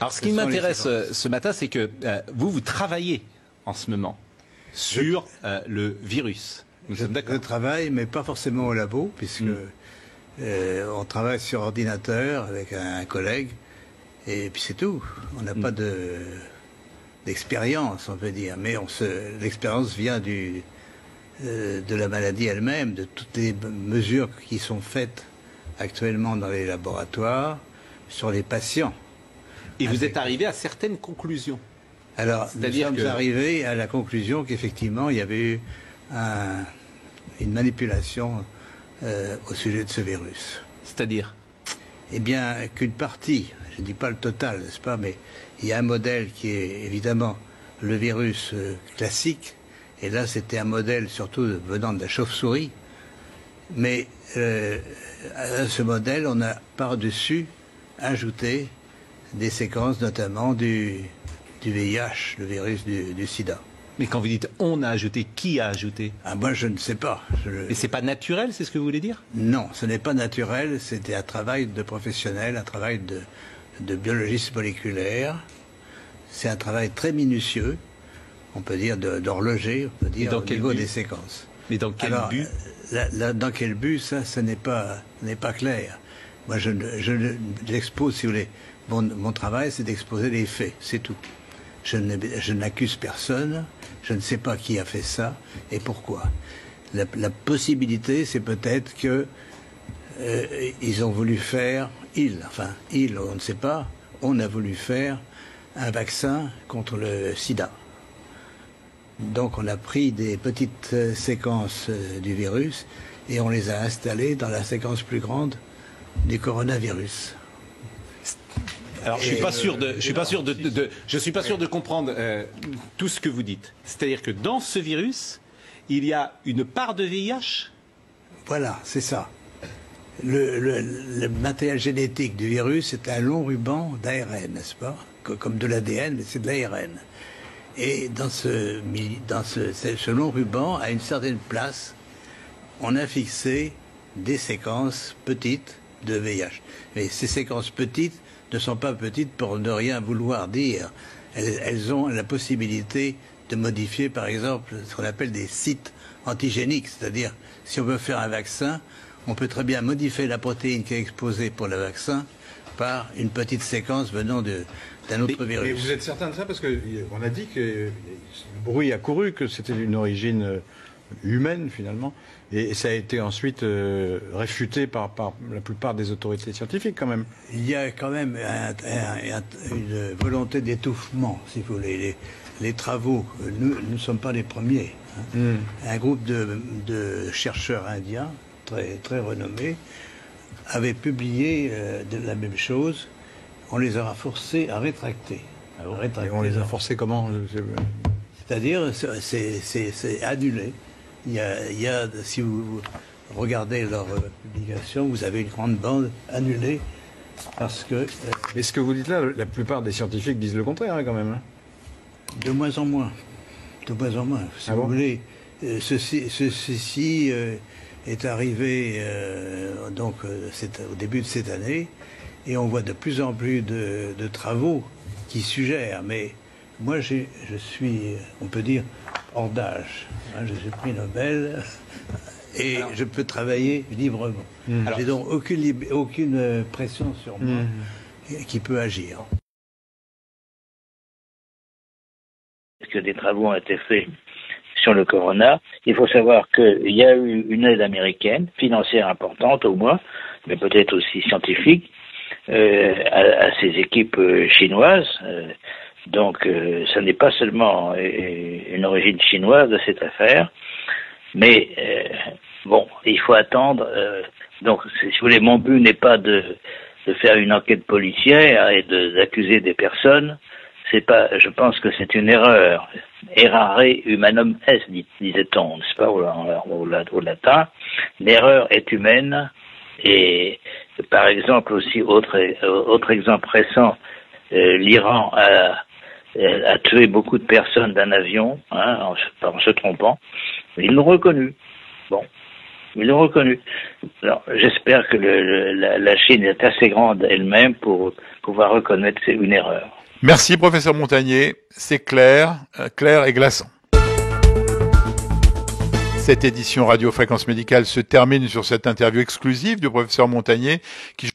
Alors, ce qui m'intéresse ce matin, c'est que vous travaillez en ce moment sur le virus. Nous sommes d'accord. Je travaille, mais pas forcément au labo, puisque on travaille sur ordinateur avec un collègue, et puis c'est tout. On n'a pas d'expérience, on peut dire, mais l'expérience vient de la maladie elle-même, de toutes les mesures qui sont faites actuellement dans les laboratoires sur les patients. Et vous êtes arrivé à certaines conclusions. Alors, nous sommes arrivés à la conclusion qu'effectivement, il y avait eu une manipulation au sujet de ce virus. C'est-à-dire? Eh bien, qu'une partie, je ne dis pas le total, n'est-ce pas, mais il y a un modèle qui est évidemment le virus classique, et là c'était un modèle surtout venant de la chauve-souris, mais à ce modèle, on a par-dessus ajouté des séquences notamment du VIH, le virus du sida. Mais quand vous dites « on a ajouté », qui a ajouté? Ah, moi, je ne sais pas. Mais c'est pas naturel, c'est ce que vous voulez dire? Non, ce n'est pas naturel. C'était un travail de professionnel, un travail de biologiste moléculaire. C'est un travail très minutieux, on peut dire d'horloger, on peut dire au niveau des séquences. Mais dans quel but? Dans quel but, ça n'est pas clair. Moi, j'expose, si vous voulez, mon travail, c'est d'exposer les faits, c'est tout. Je n'accuse personne, je ne sais pas qui a fait ça et pourquoi. La possibilité, c'est peut-être que ils ont voulu faire, on ne sait pas, on a voulu faire un vaccin contre le sida. Donc on a pris des petites séquences du virus et on les a installées dans la séquence plus grande du coronavirus. Alors, je suis pas sûr de comprendre tout ce que vous dites. C'est-à-dire que dans ce virus, il y a une part de VIH? Voilà, c'est ça. Le matériel génétique du virus, c'est un long ruban d'ARN, n'est-ce pas? Comme de l'ADN, mais c'est de l'ARN. Et dans ce long ruban, à une certaine place, on a fixé des séquences petites de VIH. Mais ces séquences petites ne sont pas petites pour ne rien vouloir dire. Elles ont la possibilité de modifier, par exemple, ce qu'on appelle des sites antigéniques. C'est-à-dire, si on veut faire un vaccin, on peut très bien modifier la protéine qui est exposée pour le vaccin par une petite séquence venant d'un autre virus. Mais vous êtes certain de ça? Parce qu'on a dit que le bruit a couru, que c'était d'une origine humaine, finalement. Et ça a été ensuite réfuté par la plupart des autorités scientifiques, quand même. Il y a quand même une volonté d'étouffement, si vous voulez. Les travaux, nous ne sommes pas les premiers. Hein. Un groupe de chercheurs indiens, très, très renommés, avait publié de la même chose. On les a forcés à rétracter. Et on les a forcés comment? C'est-à-dire, c'est annulé. Il y a, si vous regardez leur publication, vous avez une grande bande annulée parce que... Mais ce que vous dites là, la plupart des scientifiques disent le contraire, hein, quand même. Hein. De moins en moins. De moins en moins. Si vous voulez, ceci est arrivé c'est au début de cette année et on voit de plus en plus de travaux qui suggèrent, mais moi je suis, on peut dire, hors d'âge. Hein, je suis prix Nobel et je peux travailler librement. J'ai donc aucune pression sur moi qui peut agir. Que des travaux ont été faits sur le corona. Il faut savoir qu'il y a eu une aide américaine, financière importante au moins, mais peut-être aussi scientifique, à ces équipes chinoises. Donc, ça n'est pas seulement une origine chinoise de cette affaire, mais bon, il faut attendre. Donc, si vous voulez, mon but n'est pas de faire une enquête policière et d'accuser des personnes. C'est pas, je pense que c'est une erreur. Errare humanum est, disait-on, n'est-ce pas, au latin. L'erreur est humaine. Et par exemple aussi, autre exemple récent, l'Iran a tué beaucoup de personnes d'un avion, hein, en se trompant. Ils l'ont reconnu. Bon. Ils l'ont reconnu. Alors, j'espère que la Chine est assez grande elle-même pour pouvoir reconnaître une erreur. Merci, professeur Montagnier. C'est clair et glaçant. Cette édition Radio Fréquence Médicale se termine sur cette interview exclusive du professeur Montagnier qui